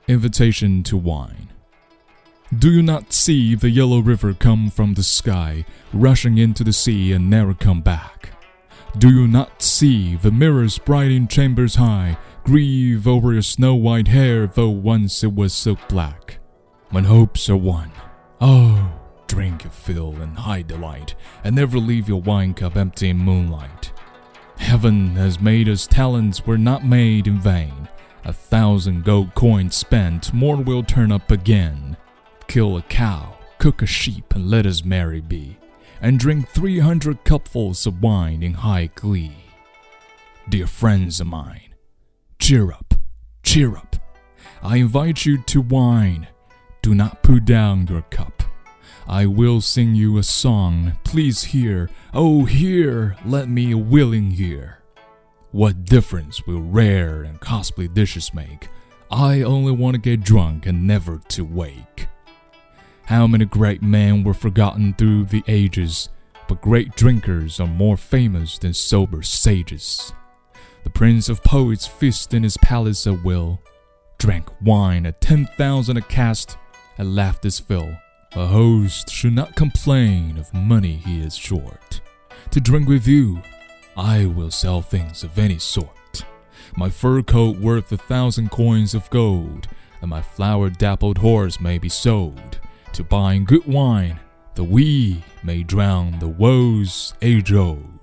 Invitation to wine. Do you not see the yellow river come from the sky, rushing into the sea and never come back? Do you not see the mirrors bright in chambers high, grieve over your snow-white hair, though once it was silk black? When hopes are won, oh, drink your fill and high delight, and never leave your wine cup empty in moonlight. Heaven has made us talents were not made in vain. 1,000 gold coins spent, more will turn up again. Kill a cow, cook a sheep, and let us merry be, and drink 300 cupfuls of wine in high glee. Dear friends of mine, cheer up, cheer up. I invite you to wine. Do not put down your cup. I will sing you a song, please hear, oh hear, let me a willing ear. What difference will rare and costly dishes make? I only want to get drunk and never to wake. How many great men were forgotten through the ages, but great drinkers are more famous than sober sages. The prince of poets feasted in his palace at will, drank wine at 10,000 a cast, and laughed his fill. A host should not complain of money he is short. To drink with you, I will sell things of any sort. My fur coat worth 1,000 coins of gold, and my flower-dappled horse may be sold, to buying good wine, that we may drown the woes age old.